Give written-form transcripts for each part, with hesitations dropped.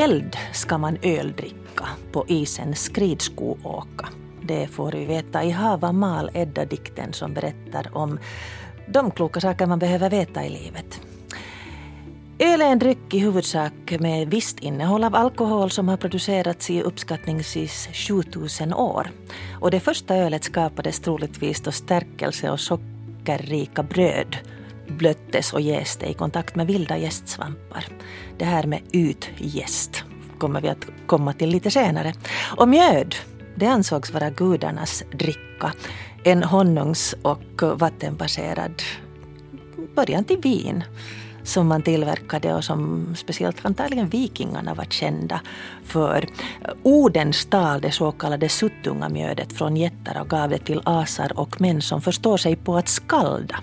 eld ska man öldricka, på isen skridsko åka. Det får vi veta i Hava mal Edda-dikten som berättar om de kloka saker man behöver veta i livet. Öl är en dryck i huvudsak med visst innehåll av alkohol som har producerats i uppskattningsvis 7000 år. Och det första ölet skapades troligtvis då stärkelse och sockerrika bröd blöttes och jäste i kontakt med vilda jästsvampar. Det här med utjäst kommer vi att komma till lite senare. Och mjöd, det ansågs vara gudarnas dricka. En honungs- och vattenbaserad början till vin som man tillverkade och som speciellt antagligen vikingarna var kända för. Oden stal det så kallade suttungamjödet från jättar och gav det till asar och män som förstår sig på att skalda.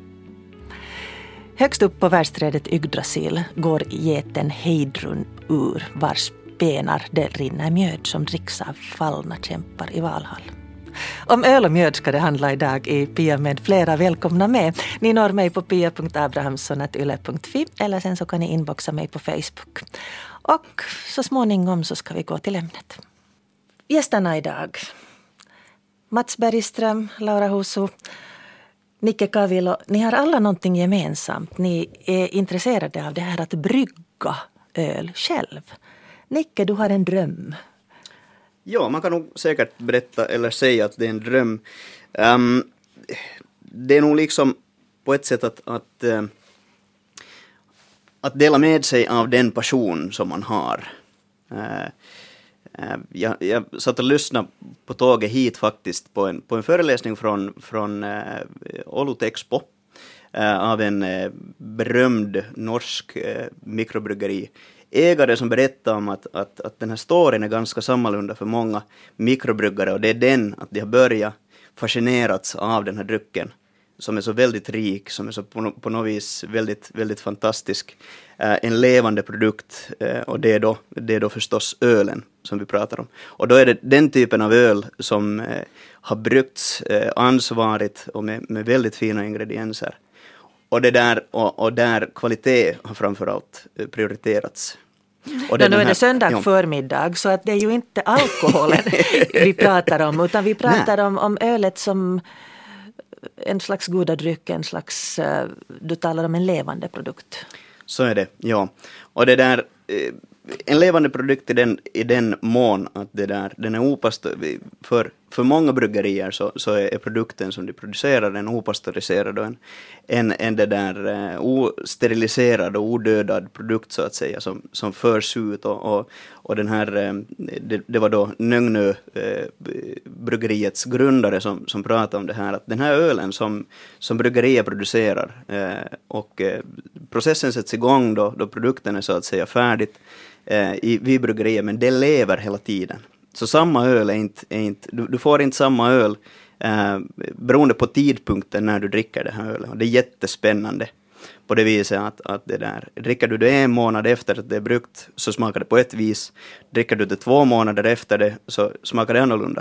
Högst upp på världsträdet Yggdrasil går geten Heidrun ur vars benar det rinner mjöd som dricks av fallna kämpar i Valhall. Om öl och mjöd ska det handla idag i Pia med flera. Välkomna med. Ni når mig på pia.abrahamsson@yle.fi eller sen så kan ni inboxa mig på Facebook. Och så småningom så ska vi gå till ämnet. Gästerna idag: Mats Bergström, Laura Husu, Nicke Kavilo. Ni har alla någonting gemensamt. Ni är intresserade av det här att brygga öl själv. Nicke, du har en dröm. Ja, man kan nog säkert berätta eller säga att det är en dröm. Det är nog liksom på ett sätt att dela med sig av den passion som man har. Jag satt och lyssnade på tåget hit faktiskt på en föreläsning från Olutexpo av en berömd norsk mikrobryggeriägare som berättar om att den här storyn är ganska sammalunda för många mikrobryggare, och det är den att de har börjat fascinerats av den här drycken som är så väldigt rik, som är så på något vis väldigt, väldigt fantastisk, en levande produkt, och det är då förstås ölen som vi pratar om. Och då är det den typen av öl som har bryggts ansvarigt och med väldigt fina ingredienser. Och det där, och där kvalitet har framförallt prioriterats. Och nu är det söndag förmiddag, så att det är ju inte alkoholen vi pratar om, utan vi pratar om ölet som en slags goda dryck, en slags, du talar om en levande produkt. Så är det, ja. Och det där, en levande produkt i den mån att den är för många bryggerier så är produkten som de producerar en opastöriserad och en det där osteriliserad och odödad produkt så att säga som förs ut, och den här det var då Nögnö bryggeriets grundare som pratade om det här, att den här ölen som bryggerier producerar och processen sätts igång då produkten är så att säga färdigt vid bryggerier, men det lever hela tiden. Så samma öl är inte du får inte samma öl beroende på tidpunkten när du dricker det här ölet. Och det är jättespännande på det viset att det där, dricker du det en månad efter att det är bryggt så smakar det på ett vis. Dricker du det 2 månader efter det så smakar det annorlunda.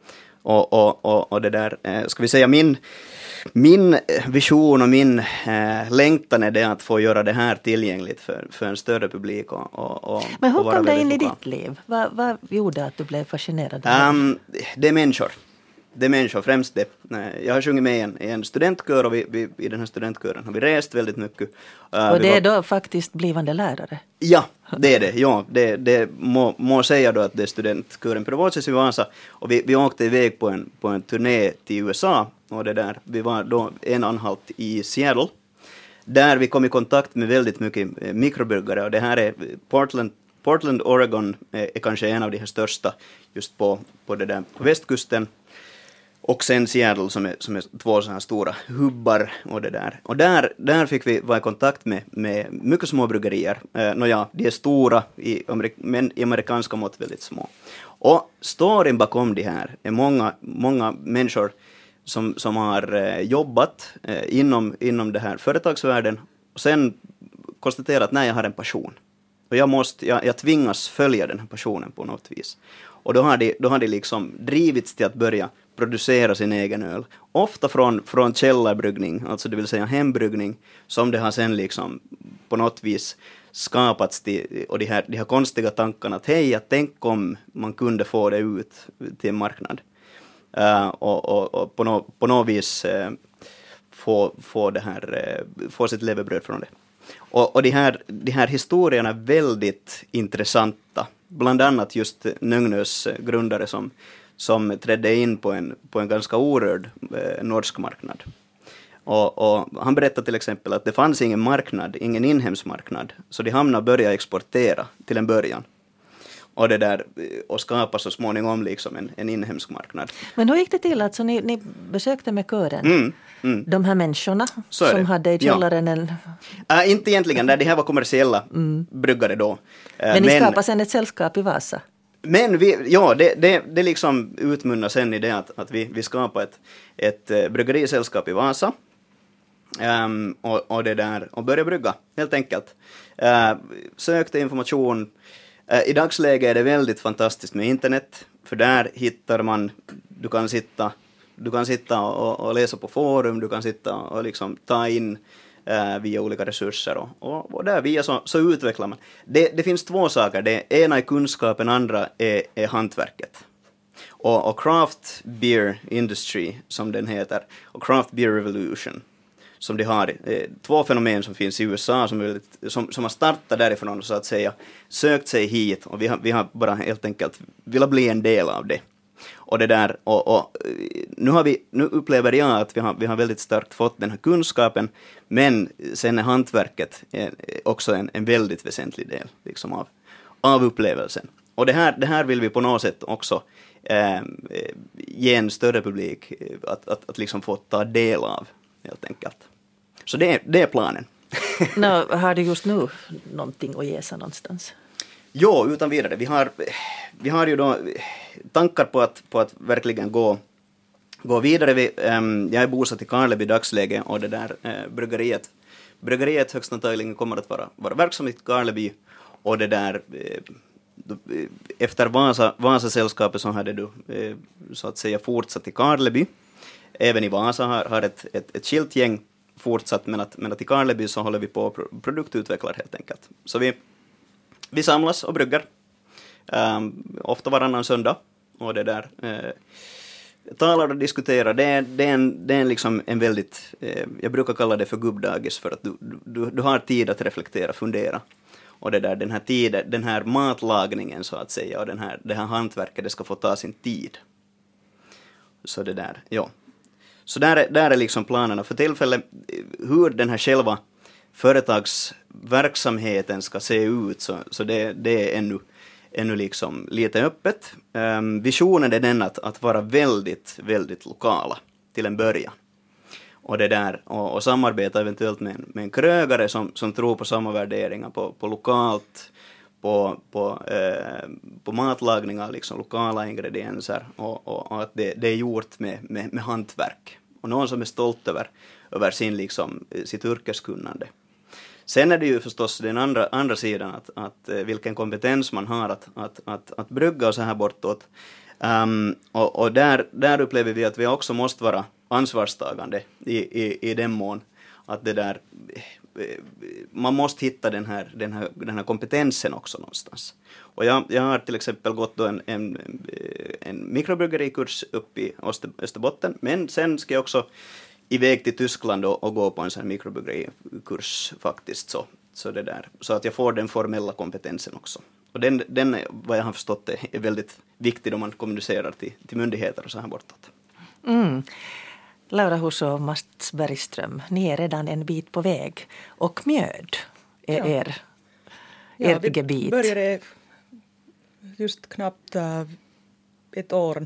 Och det där, ska vi säga min vision och min längtan är det att få göra det här tillgängligt för en större publik. Men hur kom det in i ditt liv? Vad gjorde att du blev fascinerad? Det är människor. Det är människor, främst det. Jag har sjungit med i en studentkör, och vi i den här studentkören har vi rest väldigt mycket. Och det är då faktiskt blivande lärare? Ja, det är det. Ja, det må säga då att det är studentkören Provoces i Vasa, och vi åkte iväg på en turné till USA, och det där, vi var då en anhalt i Seattle, där vi kom i kontakt med väldigt mycket mikrobryggare, och det här är Portland, Oregon är kanske en av de här största just på det där på västkusten. Och sen Seattle som är 2 så här stora hubbar och det där. Och där fick vi vara i kontakt med mycket små bryggerier. De är stora men i amerikanska mått väldigt små. Och storyn bakom det här är många människor som har jobbat inom det här företagsvärlden och sen konstaterat att jag har en passion. Och jag tvingas följa den här passionen på något vis. Och då har de liksom drivits till att börja producera sin egen öl. Ofta från källarbryggning, alltså det vill säga hembryggning, som det har sen liksom på något vis skapats och de här konstiga tankarna att hej, tänk om man kunde få det ut till en marknad. Och på något vis få sitt levebröd från det. Och de här historierna är väldigt intressanta. Bland annat just Nöngnös grundare som trädde in på en ganska orörd norsk marknad. Och han berättade till exempel att det fanns ingen marknad, ingen inhemsk marknad, så de hamnade börja exportera till en början. Och skapa så småningom liksom en inhemsk marknad. Men hur gick det till? Alltså ni besökte med kören de här människorna som hade i källaren en... inte egentligen, det här var kommersiella bryggare då. Men ni skapade sen ett sällskap i Vasa? Men det liksom utmunnar sen i det att vi skapade ett bryggerisällskap i Vasa. Och började brygga, helt enkelt. Sökte information. I dagsläget är det väldigt fantastiskt med internet, för där hittar man, du kan sitta och läsa på forum, du kan sitta och liksom ta in via olika resurser och där via så utvecklar man. Det finns två saker, det ena är kunskapen, andra är hantverket. Och Craft Beer Industry, som den heter, och Craft Beer Revolution, som de har, två fenomen som finns i USA som har startat därifrån och så att säga sökt sig hit, och vi har bara helt enkelt velat bli en del av det. Och det där, och nu upplever jag att vi har väldigt starkt fått den här kunskapen, men sen är hantverket också en väldigt väsentlig del liksom av upplevelsen. Och det här vill vi på något sätt också ge en större publik att liksom få ta del av, helt enkelt. Så det är planen. Har du just nu någonting att ge sig någonstans? Jo, utan vidare. Vi har ju då tankar på att verkligen gå vidare. Jag är bosatt i Karleby i dagsläget, och det där bryggeriet högst antagligen kommer att vara verksamt i Karleby, och det där efter Vasa-sällskapet så hade du så att säga fortsatt i Karleby. Även i Vasa har ett skilt gäng fortsatt, men att i Karleby så håller vi på att produktutveckla helt enkelt. Så vi samlas och bryggar ofta varannan söndag, och det där talar och diskuterar. Det är liksom en väldigt, jag brukar kalla det för gubbdagis, för att du har tid att reflektera, fundera. Och det där, den här matlagningen så att säga, och det här hantverket, det ska få ta sin tid. Så det där, ja. Så där är liksom planerna för tillfället. Hur den här själva företagsverksamheten ska se ut, så det är ännu liksom lite öppet. Visionen är den att vara väldigt, väldigt lokala till en början. Och det där, och samarbeta eventuellt med en krögare som tror på samma värderingar på lokalt, på matlagningar, liksom lokala ingredienser, och att det är gjort med hantverk. Och någon som är stolt över sitt yrkeskunnande. Sen är det ju förstås den andra sidan, att vilken kompetens man har att brygga och så här bortåt. Och där upplever vi att vi också måste vara ansvarstagande i den mån att det där, man måste hitta den här kompetensen också någonstans. Och jag har till exempel gått då en mikrobryggerikurs upp i Österbotten, men sen ska jag också iväg till Tyskland och gå på en sån här mikrobryggerikurs faktiskt, så det där, så att jag får den formella kompetensen också. Och den vad jag har förstått är väldigt viktig om man kommunicerar till myndigheter och så här bortåt. Laura Husso och Mats Bergström, ni är redan en bit på väg, och mjöd är ert gebit. Vi började just knappt ett år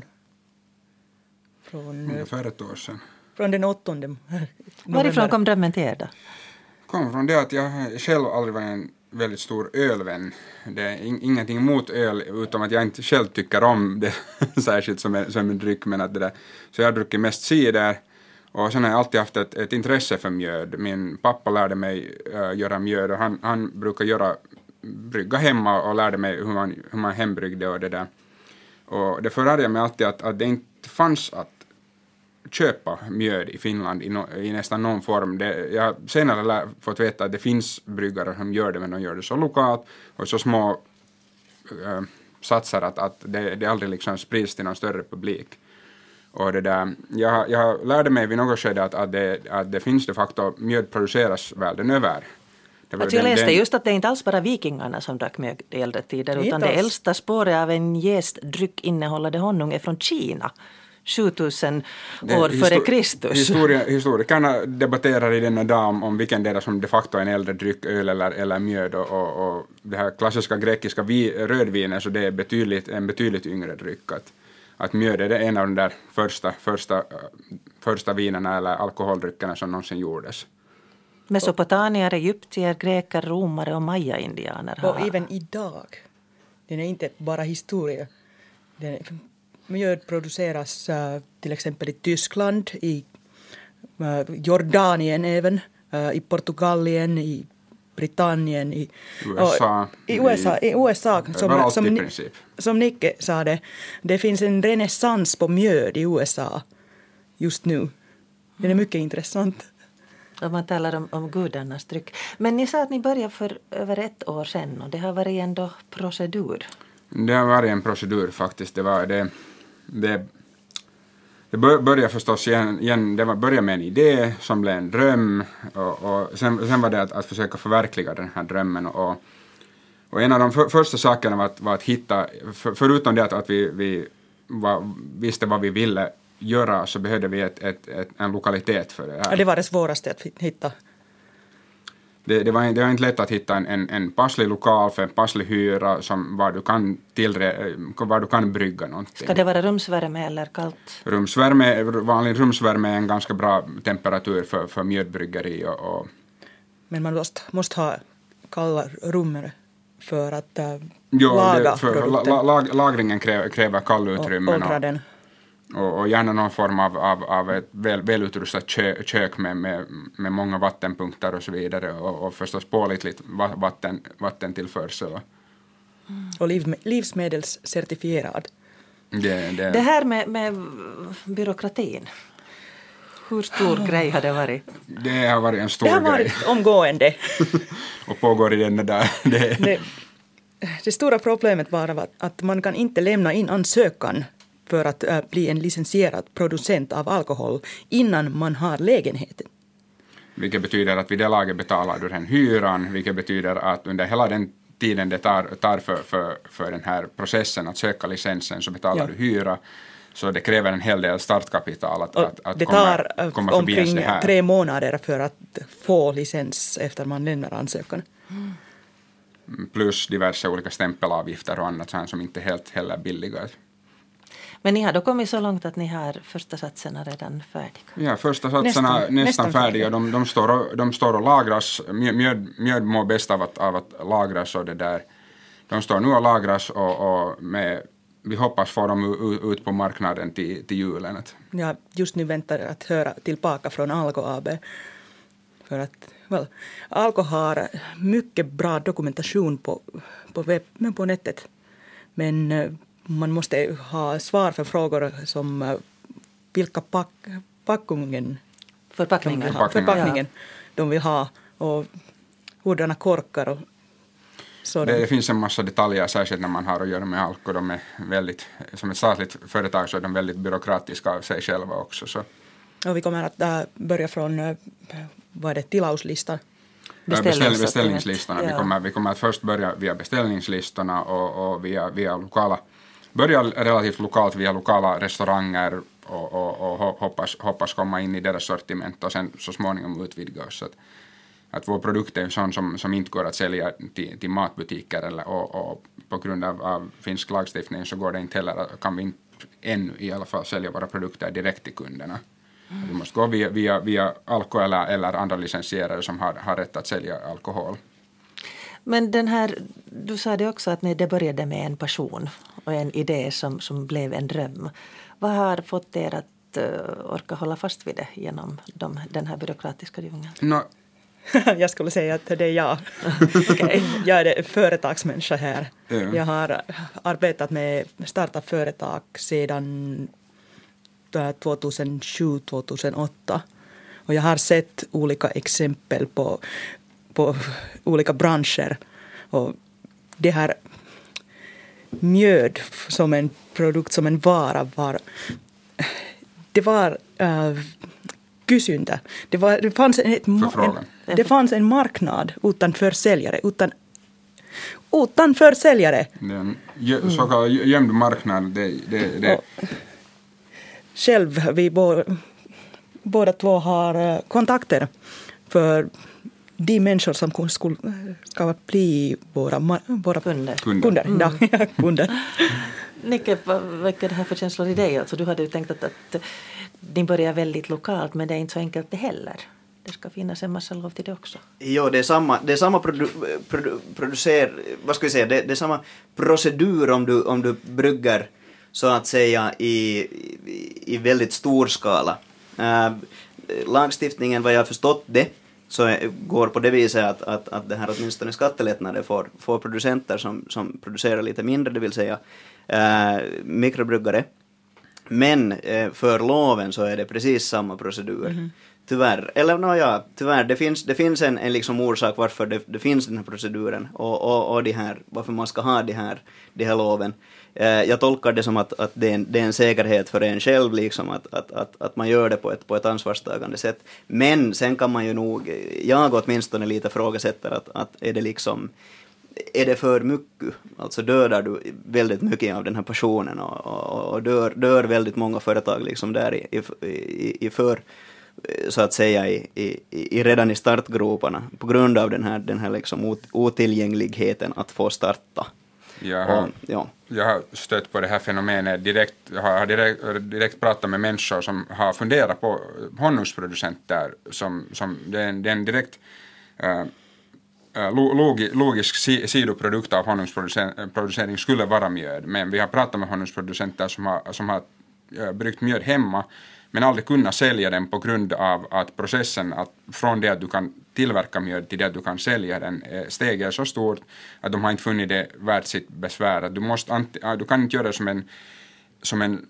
ungefär ett år sedan. Från den 8 november. Varifrån kom drömmen till er då? Kom från det att jag själv aldrig var en väldigt stor ölvän. Det är ingenting emot öl, utom att jag inte själv tycker om det särskilt som en dryck, men att det där. Så jag har druckit mest cider, och sen har jag alltid haft ett intresse för mjöd. Min pappa lärde mig göra mjöd, och han brukar brygga hemma och lärde mig hur man hembryggde och det där. Och det förhärde jag mig alltid att det inte fanns att köpa mjöd i Finland i nästan någon form. Jag har senare fått veta att det finns bryggare som gör det, men de gör det så lokalt och så små satsar att det aldrig liksom sprids till någon större publik. Och det där, jag lärde mig vid något skede att det finns de facto mjöd produceras världen över. Alltså jag läste just att det är inte alls bara vikingarna som drack mjöd i äldre tider, utan det äldsta spåret av en jästdryck innehållande honung är från Kina. 7000 år före Kristus. Historikerna debatterar i denna dag om vilken del som de facto är en äldre dryck, öl eller mjöd, och det här klassiska grekiska rödvinen, så det är en betydligt yngre dryck. Att mjöd är en av de där första vinerna eller alkoholdryckerna som någonsin gjordes. Mesopotamier, egyptier, greker, romare och maya-indianer har... Och även idag. Den är inte bara historia. Mjöd produceras till exempel i Tyskland, i Jordanien även, i Portugalien, i Britannien, i USA som Nicke sa det finns en renässans på mjöd i USA just nu. Det är mycket intressant. Och man talar om gudarnas dryck. Men ni sa att ni började för över 1 år sedan, och det har varit ändå procedur. Det har varit en procedur faktiskt. Det började förstås igen, det började med en idé som blev en dröm, och sen var det att försöka förverkliga den här drömmen, och en av de första sakerna var att hitta, förutom det att vi visste vad vi ville göra, så behövde vi en lokalitet för det här. Ja, det var det svåraste att hitta. Det var inte lätt att hitta en passlig lokal för en passlig hyra var du kan brygga någonting. Ska det vara rumsvärme eller kallt? Vanlig rumsvärme är en ganska bra temperatur för mjödbryggeri. Men man måste ha kalla rum för att laga produkten. Lagringen kräver kallutrymmen. Och gärna någon form av ett välutrustat kök med många vattenpunkter och så vidare, och förstås pålitligt vattentillförsel. Och livsmedelscertifierad. Det här med byråkratin, hur stor grej har det varit? Det har varit en stor grej. Det har varit omgående. Och pågår i denna där. Det stora problemet var att man kan inte lämna in ansökan för att bli en licensierad producent av alkohol innan man har lägenheten. Vilket betyder att vid det laget betalar du den hyran, vilket betyder att under hela den tiden det tar för den här processen att söka licensen, så betalar du hyra. Så det kräver en hel del startkapital att det komma förbi omkring det här. 3 månader för att få licens efter man lämnar ansökan. Plus diverse olika stämpelavgifter och annat som inte helt heller billiga. Men ni har då kommit så långt att ni har första satserna redan färdiga? Ja, första satserna nästan färdiga. De står och lagras. Mjöd mår bäst av att lagras, och det där. De står nu och lagras, och vi hoppas få dem ut på marknaden till julen. Ja, just nu väntar jag att höra tillbaka från Alko AB. För att Alko har mycket bra dokumentation på nätet. Men man måste ha svar för frågor som vilka förpackningen de vill ha, och hurdana korkar och så. Det finns en massa detaljer, särskilt när man har att göra med Alko. De är väldigt, som ett statligt företag, så är de väldigt byråkratiska av sig själva också. Så. Och vi kommer att börja från tilauslistan. Beställningslistorna. Ja. Vi kommer att först börja via beställningslistorna och via lokala. Börja relativt lokalt via lokala restauranger och hoppas komma in i deras sortiment, och sen så småningom utvidga oss. Att vår produkt är sån som inte går att sälja till matbutiker, och på grund av finsk lagstiftning så går det inte heller, kan vi inte ännu i alla fall sälja våra produkter direkt till kunderna. Vi måste gå via Alko eller andra licensierare som har rätt att sälja alkohol. Men du sa det också att det började med en passion och en idé som blev en dröm. Vad har fått er att orka hålla fast vid det genom den här byråkratiska djungeln? Jag skulle säga att det är jag. Okay. Jag är företagsmänniska här. Jag har arbetat med starta företag sedan 2007-2008. Och jag har sett olika exempel på olika branscher. Och det här mjöd som en produkt, som en vara det var kysyntä. Det fanns en marknad utan försäljare. Utan försäljare. Så kallad gömd marknad. Det. Själv, vi båda två har kontakter för de människor som ska bli våra kunder. Kunder. Nicke, vad väcker det här för känslor i dig? Alltså, du hade ju tänkt att ni börjar väldigt lokalt, men det är inte så enkelt det heller. Det ska finnas en massa lov till det också. Jo, det är samma det är samma procedur om du brygger så att säga i väldigt stor skala. Lagstiftningen, vad jag har förstått det, så går på det viset att det här åtminstone skattelättnader får producenter som producerar lite mindre, det vill säga mikrobryggare. Men för loven så är det precis samma procedur. Mm-hmm. Tyvärr. Eller tyvärr. Det finns en liksom orsak varför det finns den här proceduren och det här, varför man ska ha de här loven. Jag tolkar det som att det är en säkerhet för en själv, liksom, att man gör det på ett ansvarstagande sätt. Men sen kan man ju nog, jag åtminstone lite frågasätter att är det för mycket? Alltså dödar du väldigt mycket av den här passionen och dör väldigt många företag liksom där i för, så att säga redan i startgroparna på grund av den här liksom otillgängligheten att få starta. Jag har stött på det här fenomenet har direkt pratat med människor som har funderat på honungsproducenter som det är en direkt logisk sidoprodukt av honungsproducering skulle vara mjöd, men vi har pratat med honungsproducenter som har bryggt mjöd hemma men aldrig kunnat sälja den på grund av att processen att från det att du kan tillverka mjöd till det att du kan sälja den steget är så stort att de har inte funnit det värt sitt besvär. Att du kan inte göra det som en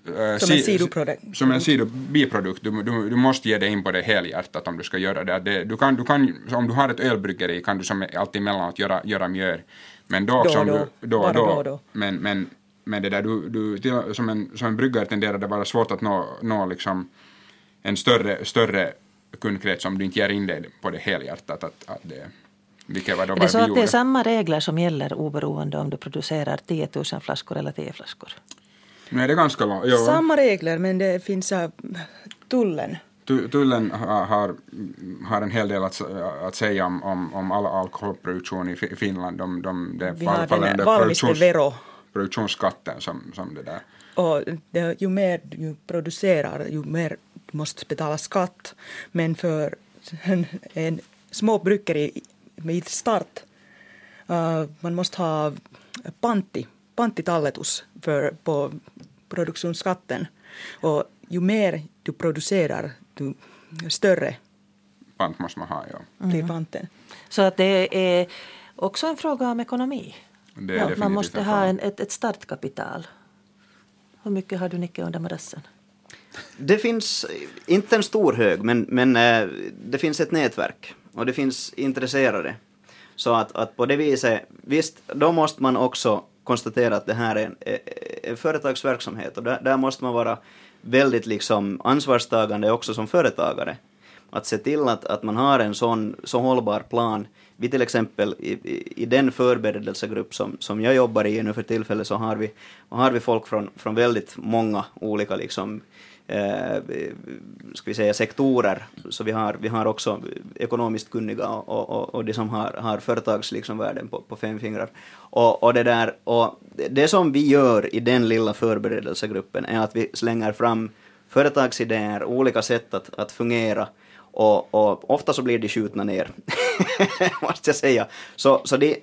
sidobiprodukt. Du måste ge dig in på det helhjärtat om du ska göra det. Du kan, om du har ett ölbryggeri kan du som alltid emellanåt göra mjöd. Men då också då. Men det där du som en bryggare tenderar det vara svårt att nå liksom en större kundkrets om du inte ger in dig på det helhjärtat att det. Är det så att det är samma regler som gäller oberoende om du producerar 10 000 flaskor eller 10 flaskor? Nej, det är ganska långt. Samma regler, men det finns tullen. Tullen har en hel del att säga om all alkoholproduktion i Finland. Vi har den valmistevero. Produktionsskatten som det där. Och ju mer du producerar, ju mer du måste betala skatt. Men för en små bryggeri med start, man måste ha pantitalletus på produktionsskatten. Och ju mer du producerar, ju större pant måste man ha, blir panten. Så att det är också en fråga om ekonomi. Man måste ha ett startkapital. Hur mycket har du, Nicke, under madrassen? Det finns inte en stor hög, men det finns ett nätverk och det finns intresserade. Så att på det viset, visst, då måste man också konstatera att det här är en företagsverksamhet och där måste man vara väldigt liksom ansvarstagande också som företagare. Att se till att man har en så hållbar plan. Vi till exempel i den förberedelsegrupp som jag jobbar i nu för tillfället så har vi folk från väldigt många olika liksom, ska vi säga sektorer. Så vi har också ekonomiskt kunniga och de som har företags liksom värden på 5 fingrar. Och det som vi gör i den lilla förberedelsegruppen är att vi slänger fram företagsidéer, olika sätt att fungera. Och ofta så blir de skjutna ner, måste jag säga. Så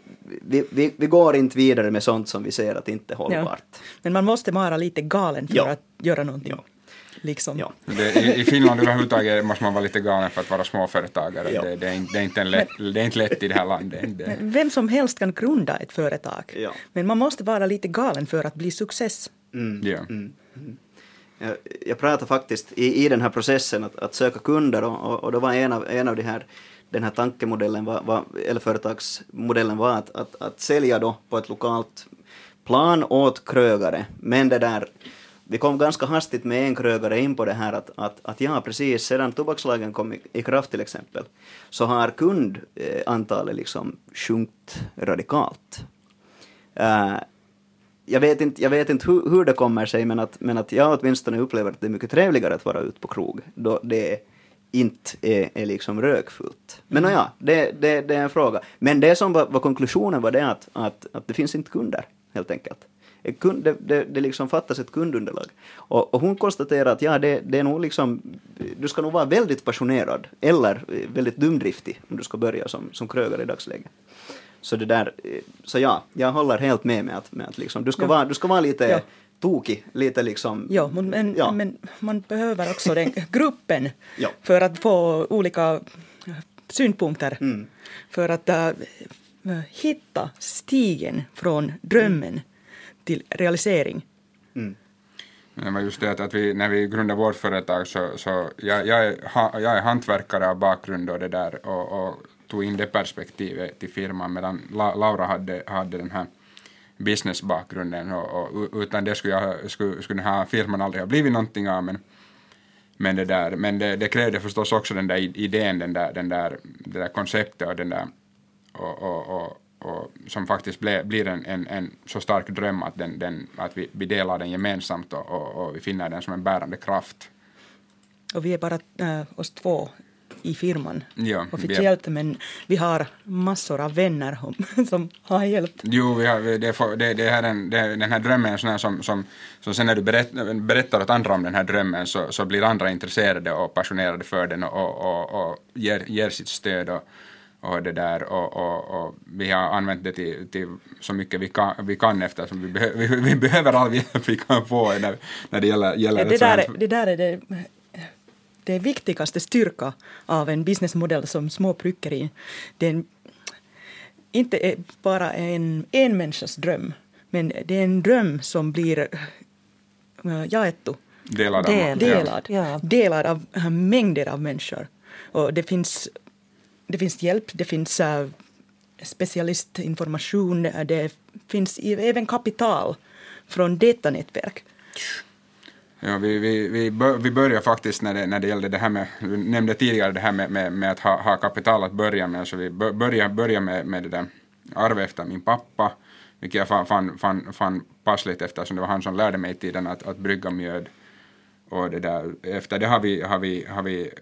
vi går inte vidare med sånt som vi ser att inte är hållbart. Ja. Men man måste vara lite galen för att göra någonting. Ja. Liksom. Ja. I Finland överhuvudtaget måste man vara lite galen för att vara småföretagare. Ja. Det är inte lätt i det här landet. Vem som helst kan grunda ett företag. Ja. Men man måste vara lite galen för att bli success. Jag pratade faktiskt i den här processen att söka kunder och då var en av den här tankemodellen eller företagsmodellen var att sälja då på ett lokalt plan åt krögare. Men det där, vi kom ganska hastigt med en krögare in på det här att ja, precis, sedan tobakslagen kom i kraft till exempel, så har kundantalet liksom sjunkit radikalt. Jag vet inte hur det kommer sig, men att jag åtminstone upplever att det är mycket trevligare att vara ute på krog då det inte är liksom rökfullt. Men ja, det är en fråga. Men det som var konklusionen var det att det finns inte kunder, helt enkelt. Det liksom fattas ett kundunderlag. Och hon konstaterar att ja, det är nog liksom, du ska nog vara väldigt passionerad eller väldigt dumdriftig om du ska börja som krögare i dagsläget. Så ja, jag håller helt med att liksom, du ska vara lite tokig, lite liksom. Ja, men man behöver också den gruppen för att få olika synpunkter. För att hitta stigen från drömmen till realisering. Det var just det att när vi grundade vårt företag så jag är hantverkare av bakgrund och det där och tog in det perspektivet till firman, medan Laura hade den här businessbakgrunden och utan det skulle den här firman aldrig ha blivit någonting av, men det krävde förstås också den där idén, det där konceptet och den där och som faktiskt blir en så stark dröm att vi delar den gemensamt och vi finner den som en bärande kraft. Och vi är bara oss två i firman officiellt, men vi har massor av vänner som har hjälpt. Jo, den här drömmen är sån som sen när du berättar åt andra om den här drömmen så blir andra intresserade och passionerade för den och ger sitt stöd och det där och vi har använt det till så mycket vi kan eftersom vi behöver all hjälp vi kan få när det gäller det där är det viktigaste styrka av en businessmodell som småbryggeri. Det är inte bara en människas dröm, men det är en dröm som blir jaettu. Delad av mängder av människor. Och det finns hjälp, det finns specialistinformation, det finns även kapital från detta nätverk. Ja, vi börjar faktiskt när det gällde det här med, du nämnde tidigare det här med att ha kapital att börja med, så vi börjar med det där arvet efter min pappa, vilket jag fann passligt eftersom det var han som lärde mig i tiden att brygga mjöd, och det där, efter det har vi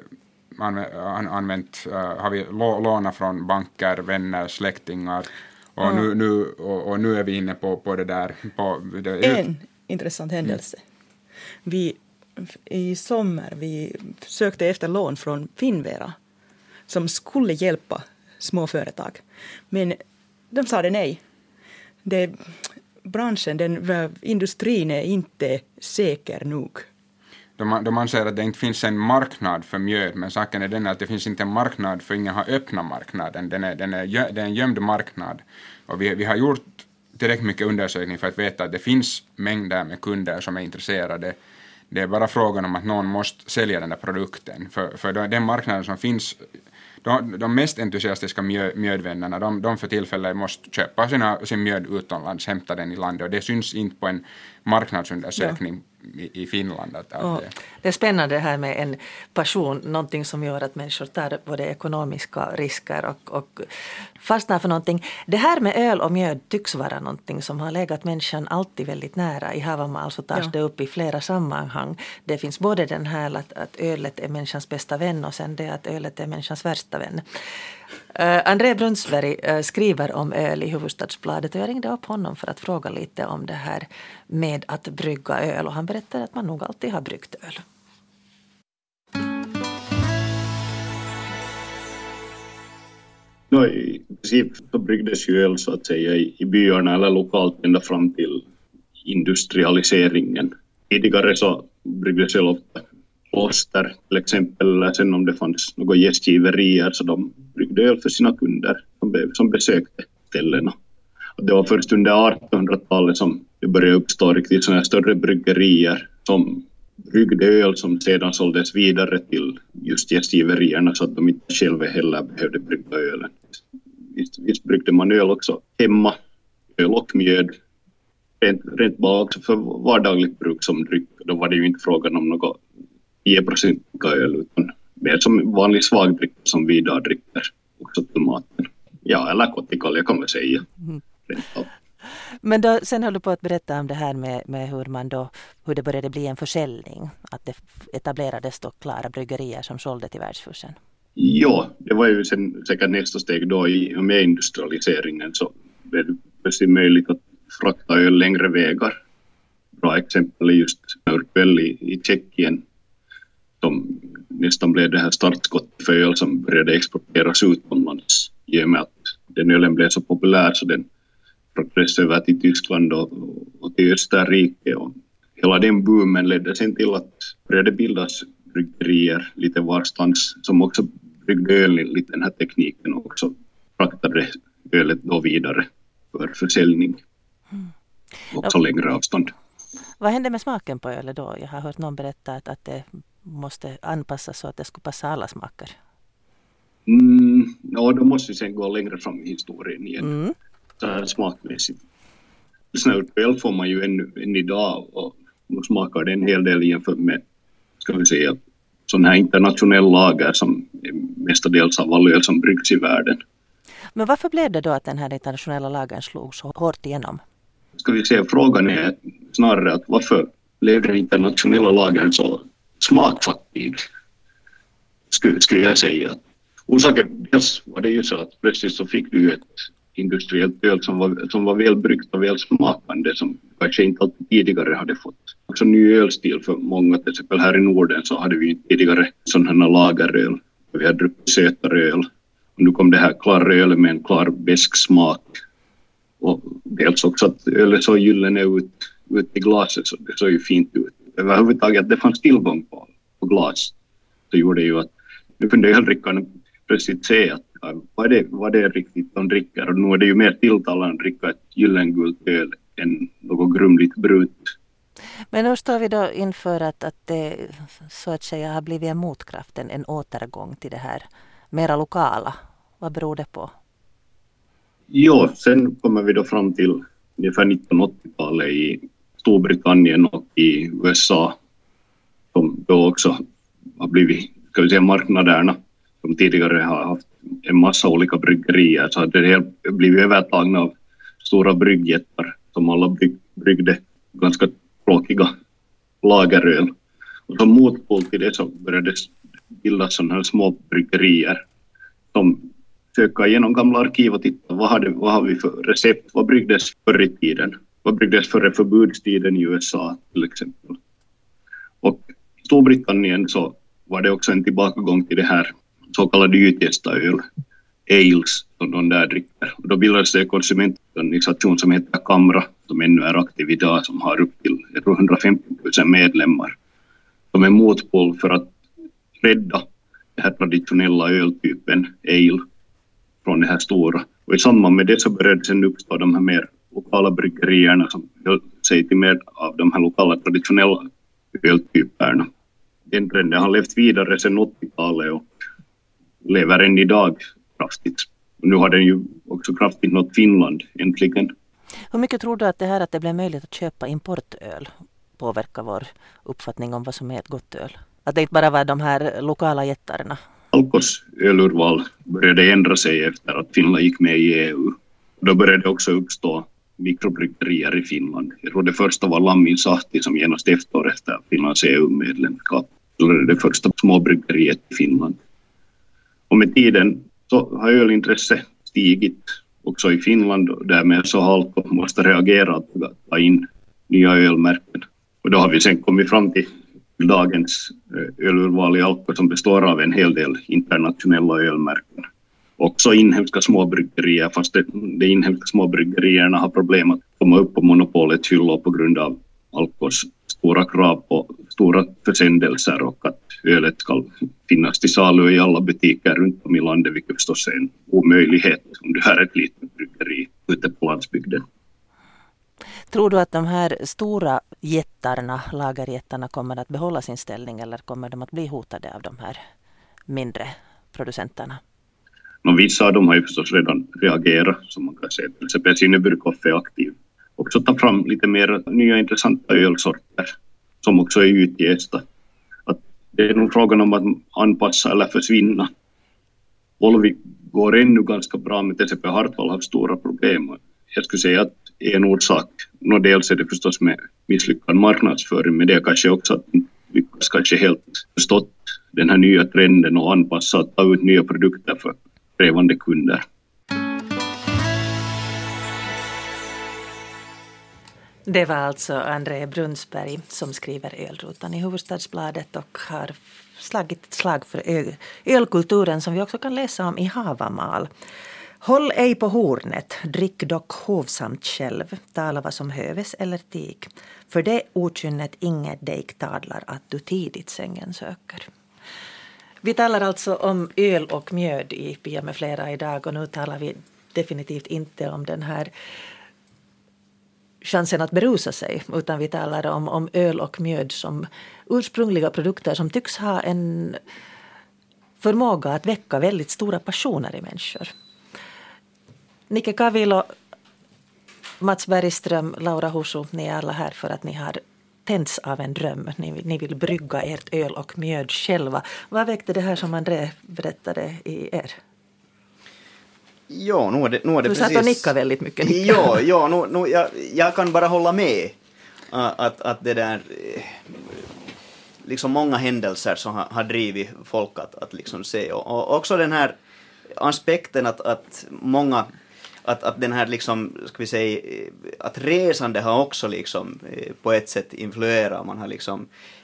lånat från banker, vänner, släktingar och nu är vi inne på det där en intressant händelse. I sommar vi sökte efter lån från Finnvera som skulle hjälpa småföretag. Men de sa det nej. Industrin är inte säker nog. De anser att det inte finns en marknad för mjöd, men saken är den att det finns inte en marknad för ingen har öppnat marknaden. Det är en gömd marknad. Och vi har gjort tillräckligt mycket undersökning för att veta att det finns mängder med kunder som är intresserade. Det är bara frågan om att någon måste sälja den där produkten. För den marknaden som finns, de mest entusiastiska mjödvännerna, de för tillfället måste köpa sin mjöd utomlands, hämta den i landet. Och det syns inte på en marknadsundersökning i Finland. Det är spännande här med en passion, någonting som gör att människor tar både ekonomiska risker och fastnar för någonting. Det här med öl och mjöd tycks vara någonting som har legat människan alltid väldigt nära. I Havamal så tas det upp i flera sammanhang. Det finns både den här att ölet är människans bästa vän och sen det att ölet är människans värsta vän. André Brunnsberg skriver om öl i Hufvudstadsbladet och jag ringde upp honom för att fråga lite om det här med att brygga öl, och han berättade att man nog alltid har bryggt öl. I princip så bryggdes ju öl så att säga i byarna eller lokalt ända fram till industrialiseringen. Tidigare så bryggdes öl ofta kloster till exempel, eller sen om det fanns några gästgiverier så de bryggde öl för sina kunder som besökte ställena. Och det var först under 1800-talet som det började uppstå riktigt sådana större bryggerier som bryggde öl som sedan såldes vidare till just gästgiverierna så att de inte själva heller behövde brygga ölen. Visst bryggde man öl också hemma, öl och mjöd. Rent bara också för vardagligt bruk som dryck. Då var det ju inte frågan om något 10% öl utan mer som vanlig svagdryck som vi idag dricker. Också till maten. Ja, eller kotikalja kan man säga. Men då, sen höll du på att berätta om det här med hur det började bli en försäljning. Att det etablerades då klara bryggerier som sålde till världshusen. Ja, det var ju sen säkert nästa steg då med industrialiseringen så blev det plötsligt möjligt att frakta öl längre vägar. Bra exempel är just Urquell i Tjeckien som nästan blev det här startskottet för öl som började exporteras utomlands i och med att den ölen blev så populär så den fraktades över till Tyskland och till Österrike och hela den boomen ledde sen till att började bildas bryggerier lite varstans som också bryggde öl lite den här tekniken och också fraktade ölet då vidare för försäljning. Också längre avstånd. Vad hände med smaken på ölet då? Jag har hört någon berätta att det måste anpassas så att det skulle passa alla smaker. Ja, då måste vi sen gå längre fram i historien igen. Så här smakmässigt. Snurröl får man ju än idag och då smakar det en hel del jämfört med, ska vi säga, sån här internationell lager som är mestadels av all öl som bryggs i världen. Men varför blev det då att den här internationella lagern slog så hårt igenom? Ska vi säga, frågan är snarare att varför blev den internationella lagern så smakfattig? Skulle jag säga. Orsaken dels var det ju så att plötsligt så fick du ett industriellt öl som var välbryggt och välsmakande som kanske inte alltid tidigare hade fått. Också ny ölstil för många, till exempel här i Norden så hade vi tidigare sådana lageröl. Vi hade druckit sötare öl. Och nu kom det här klara öl med en klar besk smak. Och dels också att ölet så gyllene ut i glaset så det såg ju fint ut. Överhuvudtaget att det fanns tillgång på glas så gjorde ju att nu kunde öldrickarna plötsligt se att vad det är riktigt de dricker. Och nu är det ju mer tilltalande att dricka ett gyllengult öl än något grumligt brut. Men nu står vi då inför att det så att säga har blivit en motkraft, en återgång till det här mera lokala. Vad beror det på? Ja, sen kommer vi då fram till ungefär 1980-talet i Storbritannien och i USA som då också har blivit, ska vi säga, marknaderna som tidigare har haft en massa olika bryggerier så hade det blivit övertagna av stora bryggjättar som alla bryggde ganska tråkiga lageröl. Och som motpol till det så började bildas sådana här små bryggerier som söka igenom gamla arkiv och titta vad har vi för recept, vad bryggdes förr i tiden, vad bryggdes före förbudstiden i USA till exempel. Och i Storbritannien så var det också en tillbakagång till det här så kallade ytgästaöl, ales som de där dricker. Och då bildades det en konsumentorganisation som heter Kamra som ännu är aktiv idag som har upp till 150 000 medlemmar. De är motpol för att rädda den här traditionella öltypen ale från det här stora. Och i samband med det så började sen uppstå de här mer lokala bryggerierna som säger till mer av de här lokala traditionella öltyperna. Den trenden har levt vidare sedan 80-talet och lever än idag kraftigt. Och nu har den ju också kraftigt nått Finland äntligen. Hur mycket tror du att det här att det blev möjligt att köpa importöl påverkar vår uppfattning om vad som är ett gott öl? Att det inte bara var de här lokala jättarna? Alkos ölurval började ändra sig efter att Finland gick med i EU. Då började det också uppstå mikrobryggerier i Finland. Jag tror det första var Lamminsahti som genast efter Finlands EU-medlemskap. Det första småbryggeriet i Finland. Och med tiden så har ölintresse stigit också i Finland och därmed så har Alko måste reagera att ta in nya ölmärken. Och då har vi sen kommit fram till dagens ölurval i Alko som består av en hel del internationella ölmärken. Också inhemska småbryggerier, fast de inhemska småbryggerierna har problem att komma upp på monopolets hyllor på grund av Alkos stora krav på stora försändelser och att ölet ska finnas till salu i alla butiker runt om i landet, vilket förstås är en omöjlighet om du har ett litet bryggeri ute på landsbygden. Tror du att de här stora jättarna, lagerjättarna, kommer att behålla sin ställning eller kommer de att bli hotade av de här mindre producenterna? Vissa av dem har ju förstås redan reagerat, som man kan säga. Till exempel Sinneburghoff är aktiv. Också ta fram lite mer nya intressanta ölsorter som också är utgästa. Att det är nog frågan om att anpassa eller försvinna. Olvi går ännu ganska bra, men till exempel Hartwall har stora problem. Jag skulle säga att en orsak, dels är det förstås med misslyckad marknadsföring, men det är kanske också att vi kanske helt förstått den här nya trenden och anpassa och ta ut nya produkter för krävande kunder. Det var alltså André Brunnsberg som skriver Ölrutan i Hufvudstadsbladet och har slagit ett slag för ölkulturen som vi också kan läsa om i Havamal. Håll ej på hornet, drick dock hovsamt själv, tala vad som höves eller tig. För det okynnet inget dig tadlar att du tidigt sängen söker. Vi talar alltså om öl och mjöd i Pia med flera idag och nu talar vi definitivt inte om den här chansen att berusa sig, utan vi talar om öl och mjöd som ursprungliga produkter som tycks ha en förmåga att väcka väldigt stora passioner i människor. Nicke Kavilo, Mats Bergström, Laura Husu, ni är alla här för att ni har tänts av en dröm. Ni vill brygga ert öl och mjöd själva. Vad väckte det här som André berättade i er? Ja, nu är det du precis... satt och nickade väldigt mycket. Jag kan bara hålla med att det där liksom många händelser som har drivit folk att liksom se och också den här aspekten att många att den här liksom, ska vi säga, att resande har också liksom på ett sätt influerat. Man har liksom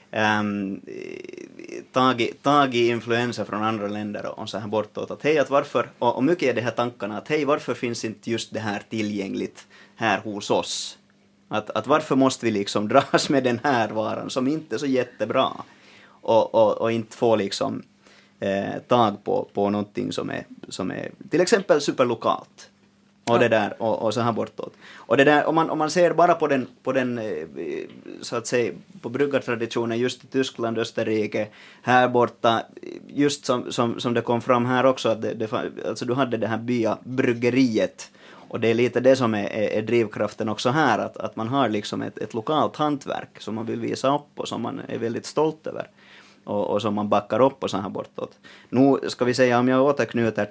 tagit influenser från andra länder och så här bortåt. Att hej, att varför, och mycket är det här tankarna att hej, varför finns inte just det här tillgängligt här hos oss? Att varför måste vi liksom dras med den här varan som inte är så jättebra och inte få liksom tag på någonting som är till exempel superlokalt. Och det där och så här bortåt. Och det där om man ser bara på den så att säga på bryggartraditionen just i Tyskland, Österrike, här borta, just som det kom fram här också att alltså du hade det här byabryggeriet och det är lite det som är drivkraften också här att man har liksom ett lokalt hantverk som man vill visa upp och som man är väldigt stolt över och som man backar upp och så här bortåt. Nu ska vi säga om jag återknyter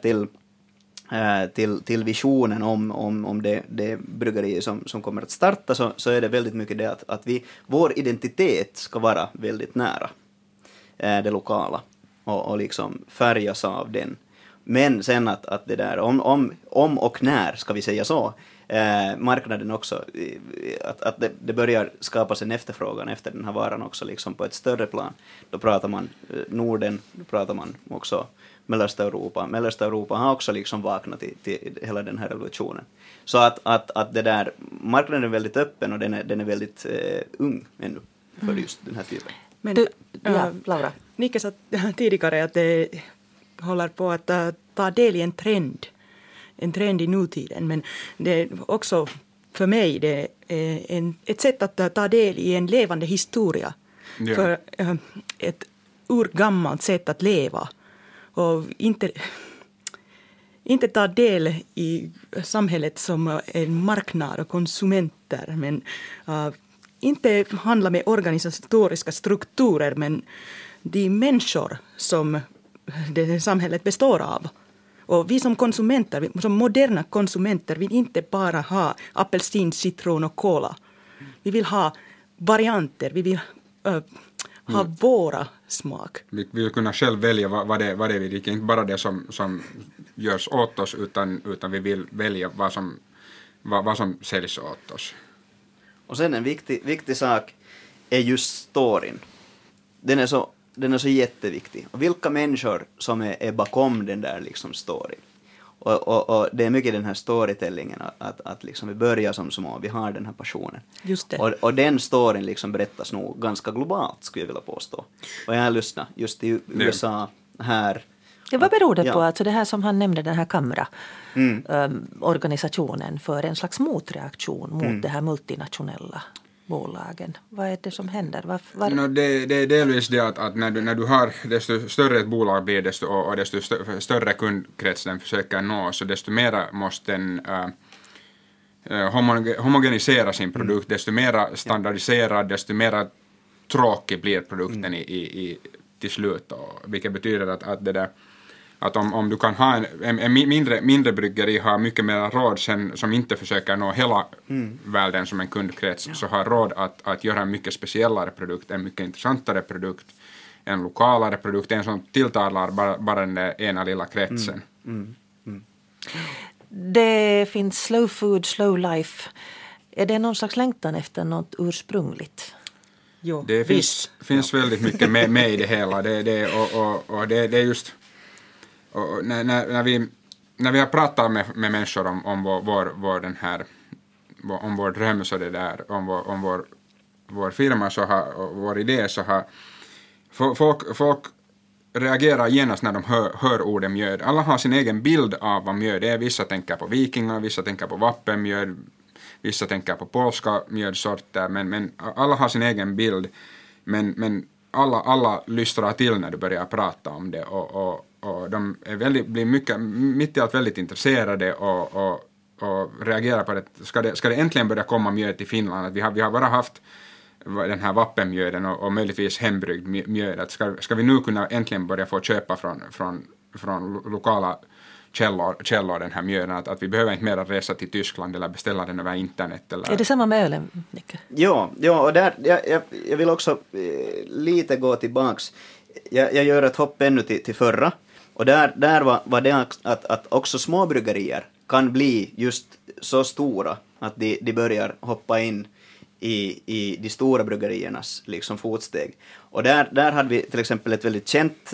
till visionen om det bryggeri som kommer att starta så är det väldigt mycket det att vår identitet ska vara väldigt nära det lokala och liksom färgas av den. Men sen att det där om och när ska vi säga så marknaden också att det börjar skapas en efterfrågan efter den här varan också liksom på ett större plan. Då pratar man Norden, då pratar man också Mellaneuropa. Mellaneuropa har också liksom vaknat till hela den här revolutionen. Så att det där marknaden är väldigt öppen och den är väldigt ung ännu för just den här typen. Men Laura. Nicke sa tidigare att det håller på att ta del i en trend i nutiden, men det är också för mig det är ett sätt att ta del i en levande historia. Ja. För ett urgammalt sätt att leva och inte ta del i samhället som en marknad och konsumenter, men inte handla med organisatoriska strukturer, men de människor som det samhället består av. Och vi som konsumenter, som moderna konsumenter, vill inte bara ha apelsin, citron och cola. Vi vill ha varianter, vi vill ha våra smak. Vi vill kunna själv välja vad det är vi dricker, inte bara det som görs åt oss, utan vi vill välja vad som säljs åt oss. Och sen en viktig sak är just storyn. Den är så jätteviktig. Och vilka människor som är bakom den där liksom storyn. Och det är mycket den här storytellingen att liksom vi börjar som små, vi har den här passionen. Just det. Och den storyn liksom berättas nog ganska globalt, skulle jag vilja påstå. Och jag har lyssnat just i USA här. Ja, vad beror det på? Alltså det här som han nämnde, den här Kamra-organisationen för en slags motreaktion mot det här multinationella bolagen. Vad är det som händer? Det är delvis det att när du har, desto större ett bolag blir och desto större kundkrets den försöker nå, så desto mer måste den homogenisera sin produkt, desto mer standardiserad, desto mer tråkig blir produkten till slut. Vilket betyder att om du kan ha en mindre bryggeri har mycket mer råd sen, som inte försöker nå hela världen som en kundkrets, så har råd att göra en mycket speciellare produkt, en mycket intressantare produkt, en lokalare produkt, en som tilltalar bara den ena lilla kretsen. Det finns slow food, slow life. Är det någon slags längtan efter något ursprungligt? Jo, det finns väldigt mycket med i det hela. Det är just... Och när vi har pratat med människor om vår dröm, så det där, om vår firma och vår idé, så har folk reagerar genast när de hör ordet mjöd. Alla har sin egen bild av vad mjöd är. Vissa tänker på vikingar, vissa tänker på vappenmjöd, vissa tänker på polska mjödsorter, men alla har sin egen bild. Men alla lystrar till när du börjar prata om det, och de blir mycket, mitt i allt väldigt intresserade och reagerar på det. Ska det äntligen börja komma mjöd till Finland? Att vi har bara haft den här vappenmjöden och möjligtvis hembryggd mjöd. Att ska vi nu kunna äntligen börja få köpa från lokala källor den här mjöden, att vi behöver inte mer resa till Tyskland eller beställa den över internet. Eller... Är det samma med ölen, Nicke? Ja, och där, jag vill också lite gå tillbaks. Jag gör ett hopp ännu till förra, och där var det att också små bryggerier kan bli just så stora att de börjar hoppa in i de stora bryggeriernas liksom fotsteg. Och där hade vi till exempel ett väldigt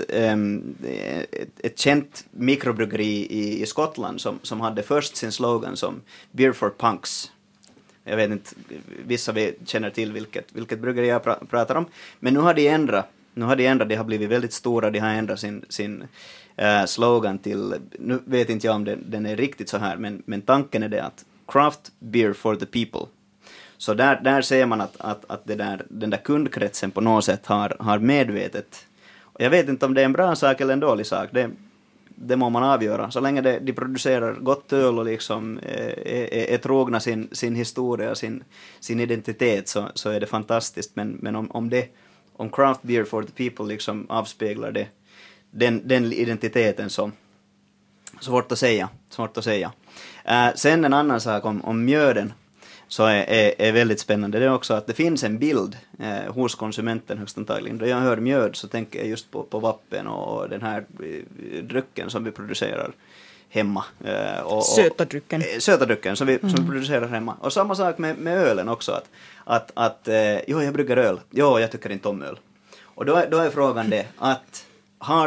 känt mikrobryggeri i Skottland som hade först sin slogan som Beer for Punks. Jag vet inte, vissa vi känner till vilket bryggeri jag pratar om. Men nu har de ändrat, de har blivit väldigt stora, de har ändrat sin slogan till, nu vet inte jag om den är riktigt så här, men tanken är det att craft beer for the people. Så där ser man att den där kundkretsen på något sätt har medvetet. Och jag vet inte om det är en bra sak eller en dålig sak. Det må man avgöra. Så länge de producerar gott öl och liksom är trogna sin historia, sin identitet, så är det fantastiskt. Men om craft beer for the people liksom avspeglar det den identiteten, så svårt att säga. Sen en annan sak om mjöden, så är väldigt spännande. Det är också att det finns en bild hos konsumenten högst antagligen. Då jag hör mjöd så tänker jag just på vappen och den här drycken som vi producerar hemma. Söta drycken som vi producerar hemma. Och samma sak med ölen också. Att jag brygger öl. Jag tycker inte om öl. Och då är frågan det att har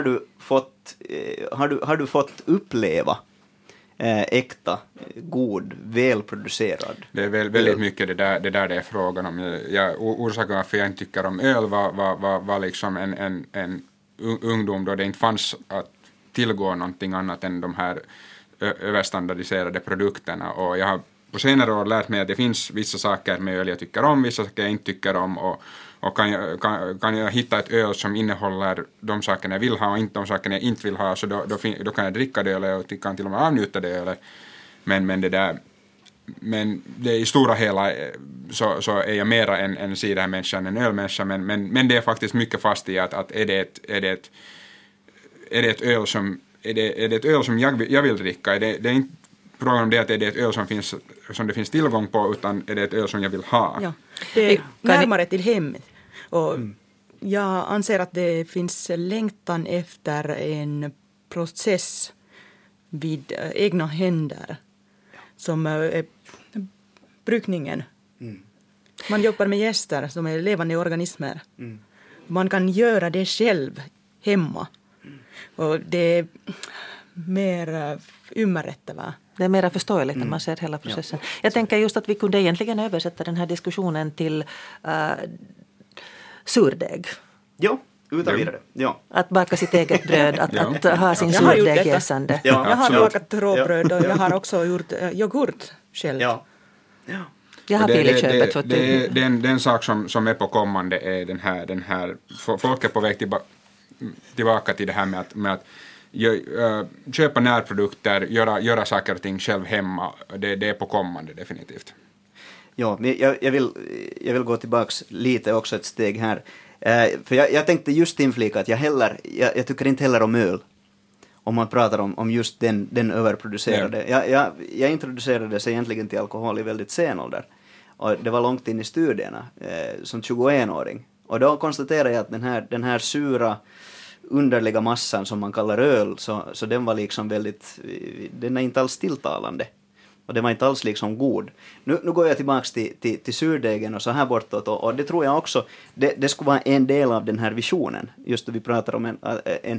du fått uppleva äkta, god, välproducerad. Det är väldigt mycket det där det är frågan om. Orsaken varför jag inte tycker om öl var liksom en ungdom då det inte fanns att tillgå någonting annat än de här överstandardiserade produkterna. Och jag har på senare år lärt mig att det finns vissa saker med öl jag tycker om, vissa saker jag inte tycker om, och kan jag hitta ett öl som innehåller de sakerna jag vill ha och inte de sakerna jag inte vill ha, så då kan jag dricka det ölet och kan till och med avnjuta det ölet. Men det i stora hela så är jag mera en cidermänniska än en ölmänniska, men det är faktiskt mycket fast i att är det ett öl som jag vill dricka, det är inte frågan om det att är det ett öl som det finns tillgång på, utan är det ett öl som jag vill ha. Ja, det är närmare till hemmet. Och jag anser att det finns längtan efter en process vid egna händer som är brukningen. Man jobbar med gäster som är levande organismer. Man kan göra det själv hemma. Och det är mer ymmärrettävää. Det är mer förståeligt när man ser hela processen. Ja. Jag tänker just att vi kunde egentligen översätta den här diskussionen till surdeg. Ja, Utan vidare, ja. Att baka sitt eget bröd, att ha sin Jag har gjort surdeg detta. jäsande. Ja, Jag har absolut. bakat råbröd och jag har också gjort yoghurt själv. Ja. Jag har filit köpet. Det är en sak som är på kommande är den här folk är på väg tillbaka till det här med att köpa närprodukter, göra saker och ting själv hemma. Det är på kommande definitivt. Ja, men jag vill gå tillbaks lite också ett steg här. För jag tänkte just inflika att jag tycker inte heller om öl. Om man pratar om just den överproducerade. Jag introducerades egentligen till alkohol i väldigt sen ålder. Och det var långt in i studierna, som 21-åring. Och då konstaterade jag att den här sura, underliga massan som man kallar öl, så den var liksom väldigt, den är inte alls tilltalande. Och det var inte alls liksom god. Nu går jag tillbaka till surdegen och så här bortåt. Och det tror jag också, det skulle vara en del av den här visionen. Just då vi pratar om en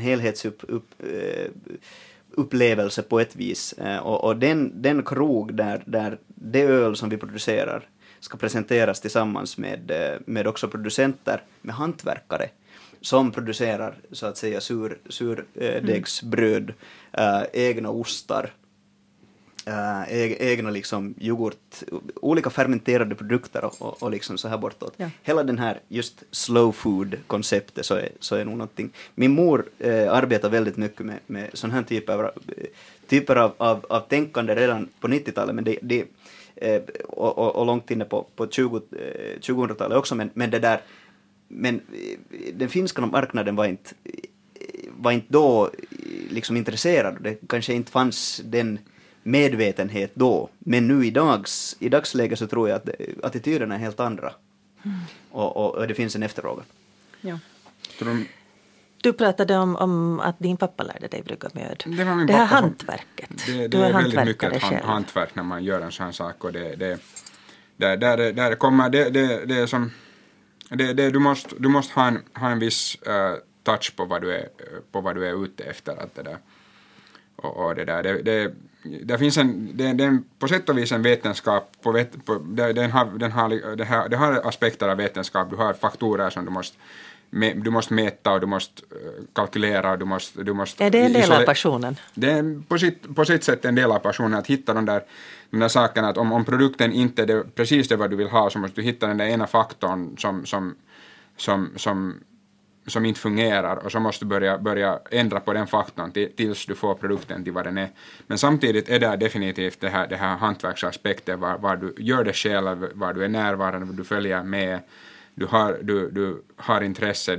helhetsupplevelse på ett vis. Och den krog där det öl som vi producerar ska presenteras tillsammans med också producenter, med hantverkare som producerar så att säga surdegsbröd, egna ostar, egna liksom yoghurt, olika fermenterade produkter och liksom så här bortåt. Ja. Hela den här just slow food-konceptet så är nog någonting. Min mor arbetar väldigt mycket med sån här typer av tänkande redan på 90-talet, men det och långt inne på 2000-talet också, men det där, men den finska marknaden var inte då liksom intresserad. Det kanske inte fanns den medvetenhet då, men nu i dagsläget så tror jag att attityderna är helt andra. Och det finns en efterfrågan. Ja. Du pratade om att din pappa lärde dig brygga mjöd. Det här hantverket. Det är väldigt mycket ett hantverk när man gör en sån sak. Och där kommer det är som du måste ha en viss touch på vad du är ute efter att det där. Och det där det finns en på sätt och vis en vetenskap den har aspekter av vetenskap. Du har faktorer som du måste mäta och du måste kalkylera och du måste är det en del av passionen? Det är på sitt sätt en del av passionen att hitta de där sakerna, att om produkten inte är precis det vad du vill ha, så måste du hitta den där ena faktorn som inte fungerar, och så måste du börja ändra på den faktorn tills du får produkten till vad den är. Men samtidigt är det definitivt det här hantverksaspekten, var du gör det själv, var du är närvarande, var du följer med, du har intresse,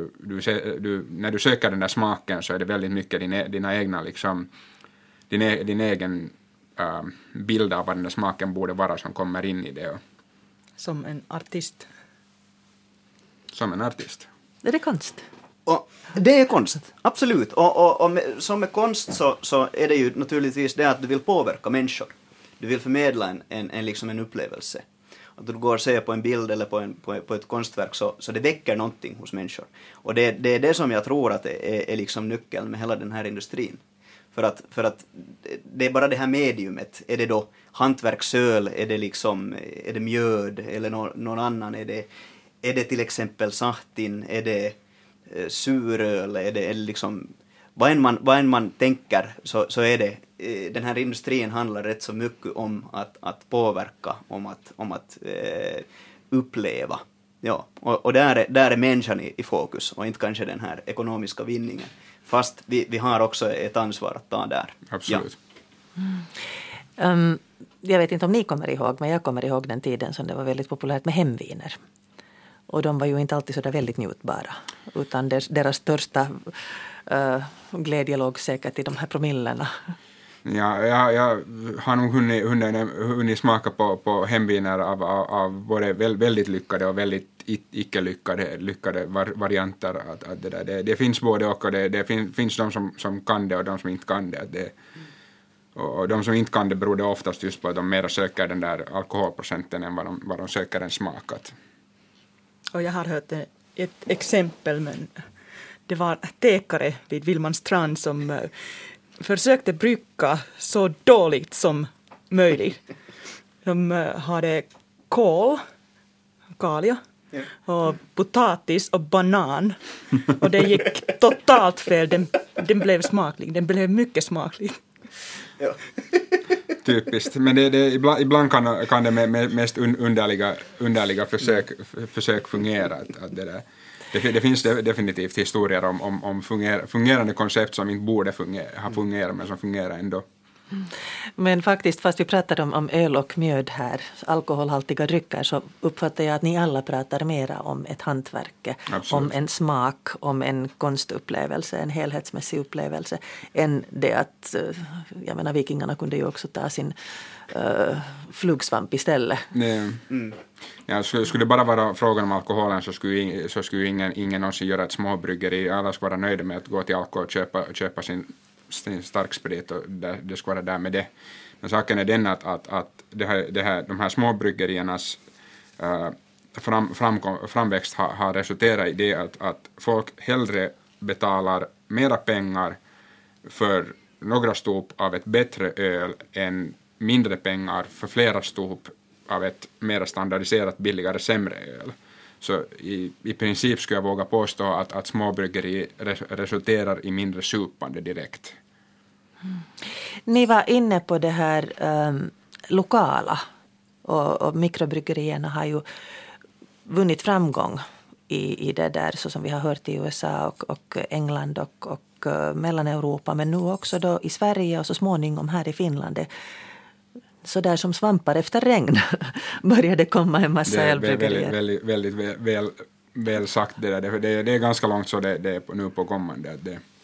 när du söker den där smaken så är det väldigt mycket dina egna liksom, din egen bild av vad den där smaken borde vara som kommer in i det. Som en artist. Som en artist. Är det konst? Och det är konst, absolut. Och som med konst så är det ju naturligtvis det att du vill påverka människor. Du vill förmedla en upplevelse. Att du går och ser på en bild eller på ett konstverk så det väcker någonting hos människor. Och det är det som jag tror att är liksom nyckeln med hela den här industrin. För att det är bara det här mediumet. Är det då hantverksöl, är det mjöd eller någon annan, är det till exempel sahtin, är det suröl, är det liksom vad än man tänker så är det den här industrin handlar rätt så mycket om att påverka, om att uppleva. Ja, och där är människan i fokus och inte kanske den här ekonomiska vinningen. Fast vi har också ett ansvar att ta där. Absolut. Ja. Jag vet inte om ni kommer ihåg, men jag kommer ihåg den tiden som det var väldigt populärt med hemviner. Och de var ju inte alltid så där väldigt njutbara. Utan deras största glädje låg säkert i de här promillerna. Ja, jag har nog hunnit smaka på hemviner av både väldigt lyckade och väldigt icke lyckade varianter. Att det finns både och det finns de som kan det och de som inte kan det. Och de som inte kan det beror det oftast just på att de mer söker den där alkoholprocenten än vad de söker en smakat. Och jag har hört ett exempel, men det var tekare vid Vilmanstrand som försökte brygga så dåligt som möjligt. De hade kalia och potatis och banan. Och det gick totalt fel. Den blev smaklig. Den blev mycket smaklig. Ja. Typiskt. Men ibland kan det med mest underliga försök fungera. Att det finns definitivt historier om fungerande koncept som inte borde ha fungerat men som fungerar ändå. Men faktiskt, fast vi pratar om öl och mjöd här, alkoholhaltiga drycker, så uppfattar jag att ni alla pratar mera om ett hantverk, om en smak, om en konstupplevelse, en helhetsmässig upplevelse, än det att, jag menar, vikingarna kunde ju också ta sin flugsvamp istället. Ja, skulle det bara vara frågan om alkoholen så skulle ingen någonsin göra ett småbryggeri. Alla skulle vara nöjda med att gå till Alko och köpa sin starksprit och det ska vara där med det. Men saken är den att de här småbryggeriernas framväxt har resulterat i det att folk hellre betalar mera pengar för några stop av ett bättre öl än mindre pengar för flera stop av ett mer standardiserat, billigare, sämre öl. Så i princip skulle jag våga påstå att småbryggeri resulterar i mindre supande direkt. Ni var inne på det här lokala och mikrobryggerierna har ju vunnit framgång i det där, så som vi har hört i USA och England och Mellaneuropa, men nu också då i Sverige och så småningom här i Finland. Så där som svampar efter regn började komma en massa ölbryggerier. Väldigt väl sagt det där. Det är ganska långt så det är nu på kommande.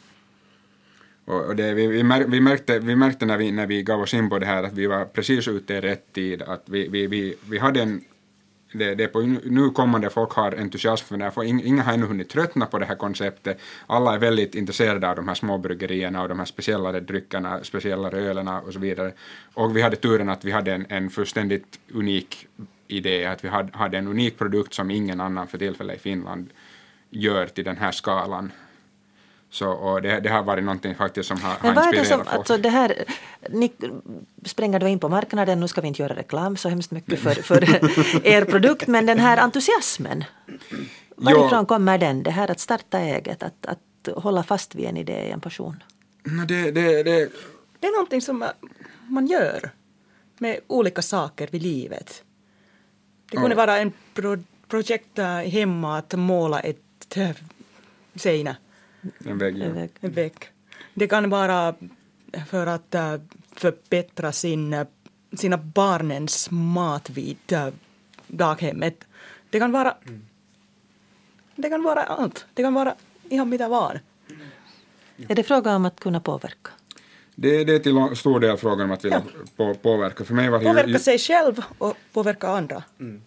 Och vi märkte när vi gav oss in på det här att vi var precis ute i rätt tid. Att vi hade det på nu kommande folk har entusiasm för det här. Inga har ännu hunnit tröttna på det här konceptet. Alla är väldigt intresserade av de här småbryggerierna och de här speciellare dryckerna, speciellare ölerna och så vidare. Och vi hade turen att vi hade en fullständigt unik idé. Att vi hade en unik produkt som ingen annan för tillfället i Finland gör till den här skalan. Så, och det har varit någonting faktiskt som har inspirerat folk. Men vad är det som, alltså det här, ni spränger då in på marknaden, nu ska vi inte göra reklam så hemskt mycket för er produkt, men den här entusiasmen, varifrån kommer den? Det här att starta eget, att hålla fast vid en idé, en passion? Det är någonting som man gör med olika saker vid livet. Det kunde vara en projekt hemma att måla ett seinä. En vägg. Det kan vara för att förbättra sina barnens mat vid daghemmet. Det kan vara allt. Det kan vara ihan mitä vaan. Är det fråga om att kunna påverka? Det är till stor del frågan om att vilja påverka. För mig var det påverka sig själv och påverka andra.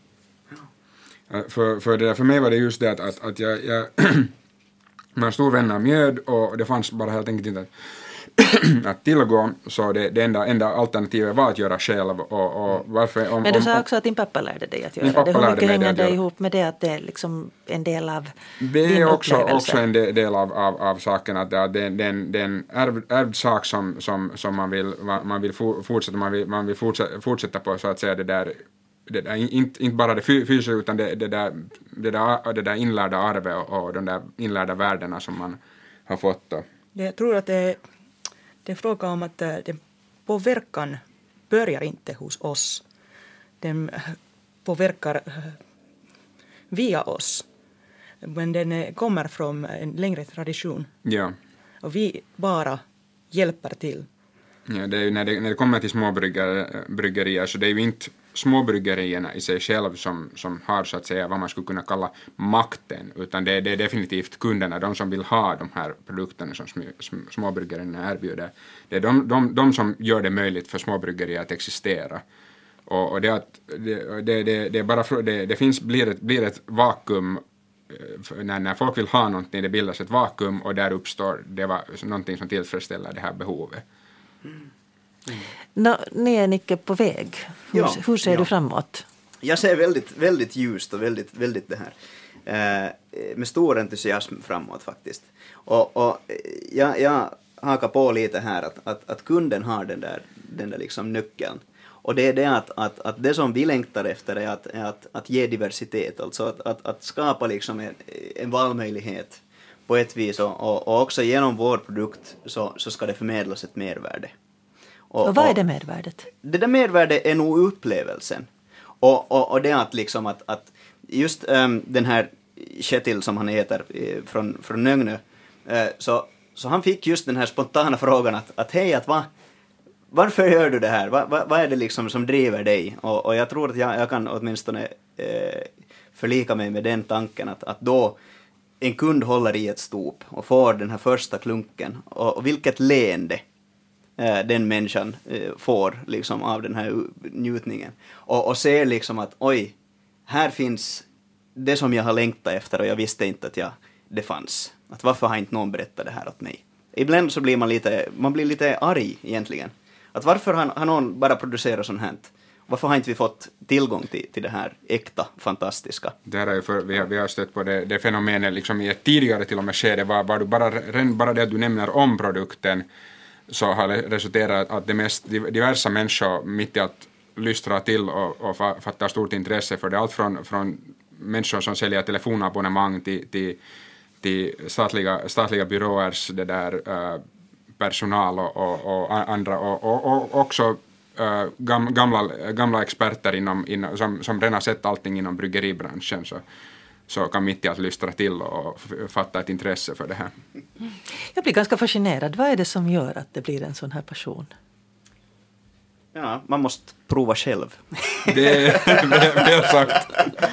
För mig var det just det att jag med en stor vän av mjöd och det fanns bara helt enkelt inte att tillgå, så det enda alternativet var att göra själv. Och varför, men du sa också att din pappa lärde dig att göra det. Hur mycket hänger det ihop med det att det är liksom en del av det är din också en del av saken, att det är en ärvd sak som man vill fortsätta på, så att säga, det där inte bara det fysiska utan det där inlärda arvet och de där inlärda värdena som man har fått då. Jag tror att det är fråga om att den påverkan börjar inte hos oss. Den påverkar via oss. Men den kommer från en längre tradition. Ja. Och vi bara hjälper till. Ja, det är ju när det kommer till småbryggerier så det är ju inte småbryggerierna i sig själv som har, så att säga, vad man skulle kunna kalla makten, utan det är definitivt kunderna, de som vill ha de här produkterna som småbryggerierna erbjuder. Det är de som gör det möjligt för småbryggerier att existera. Och det är bara blir ett vakuum när folk vill ha någonting, det bildas ett vakuum och där uppstår någonting som tillfredsställer det här behovet. Ni är Nicke på väg. Hur ser du framåt? Jag ser väldigt, väldigt ljust och väldigt det här med stor entusiasm framåt faktiskt. Och jag hakar på lite här att kunden har den där liksom nyckeln. Och det är det att det som vi längtar efter är att ge diversitet, alltså att skapa liksom en valmöjlighet på ett vis, och också genom vår produkt så ska det förmedlas ett mervärde. Och vad är det mervärdet? Det där mervärdet är nog upplevelsen. Och det är att liksom att just den här Kjetil som han heter från Nögnö, så han fick just den här spontana frågan att hej, varför gör du det här? Vad är det liksom som driver dig? Och jag tror att jag kan åtminstone förlika mig med den tanken att då en kund håller i ett stop och får den här första klunken, och vilket leende den människan får liksom av den här njutningen, och ser liksom att oj, här finns det som jag har längtat efter och jag visste inte att det fanns. Att varför har inte någon berättat det här åt mig? Ibland så blir man blir lite arg egentligen. Att varför har någon bara producerat sånt här? Varför har inte vi fått tillgång till det här äkta, fantastiska? Det här är ju vi har stött på det fenomenet liksom i ett tidigare till och med skede, var du bara det att du nämner om produkten, så har det resulterat att det mest diversa människor mitt i att lystra till och fattar stort intresse för det. Allt från människor som säljer telefonabonnemang till statliga byråers det där personal och andra, och också gamla experter som redan sett allting inom bryggeribranschen, så kan mitt i att lystra till och fatta ett intresse för det här. Jag blir ganska fascinerad. Vad är det som gör att det blir en sån här passion? Ja, man måste prova själv. Det är väl sagt.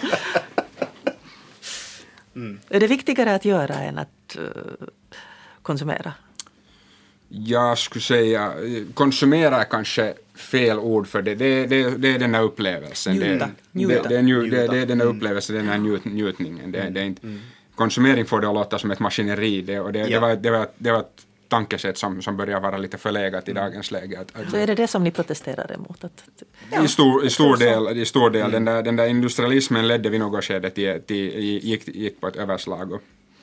Är det viktigare att göra än att konsumera? Jag skulle säga konsumera är kanske fel ord för det. Det är den här upplevelsen. Njuta. Det är den här upplevelsen, den här njutningen. Det är inte, konsumering får det att låta som ett maskineri. Det var ett tankesätt som börjar vara lite förlegat i dagens läge. Så är det som ni protesterar emot? I stor del. Den där industrialismen ledde vid något skede gick på ett överslag.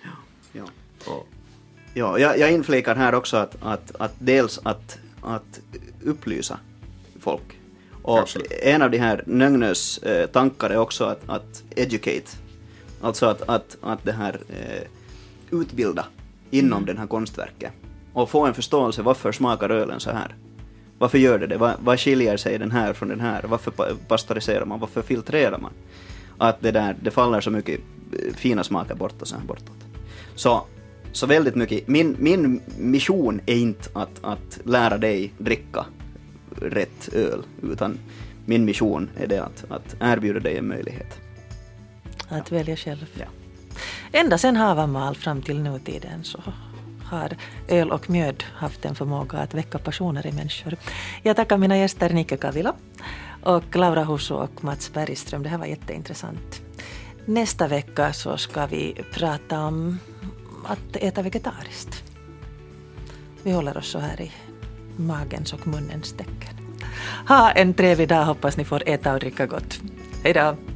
Ja, jag inflikar här också att dels att upplysa folk. Och absolut. En av de här Nögnös tankar är också att educate. Alltså att det här utbilda inom den här konstverket. Och få en förståelse, varför smakar ölen så här? Varför gör det? Vad skiljer sig den här från den här? Varför pasteuriserar man? Varför filtrerar man? Att det faller så mycket fina smaker bort och så här bortåt. Så väldigt mycket. Min mission är inte att lära dig dricka rätt öl, utan min mission är det att erbjuda dig en möjlighet. Att välja själv. Ja. Ända sedan Havamal fram till nutiden så har öl och mjöd haft en förmåga att väcka passioner i människor. Jag tackar mina gäster Nikke Kavila och Laura Husso och Mats Bergström. Det här var jätteintressant. Nästa vecka så ska vi prata om att äta vegetariskt. Vi håller oss så här i magens och munnens tecken. Ha en trevlig dag, hoppas ni får äta och dricka gott. Hej då!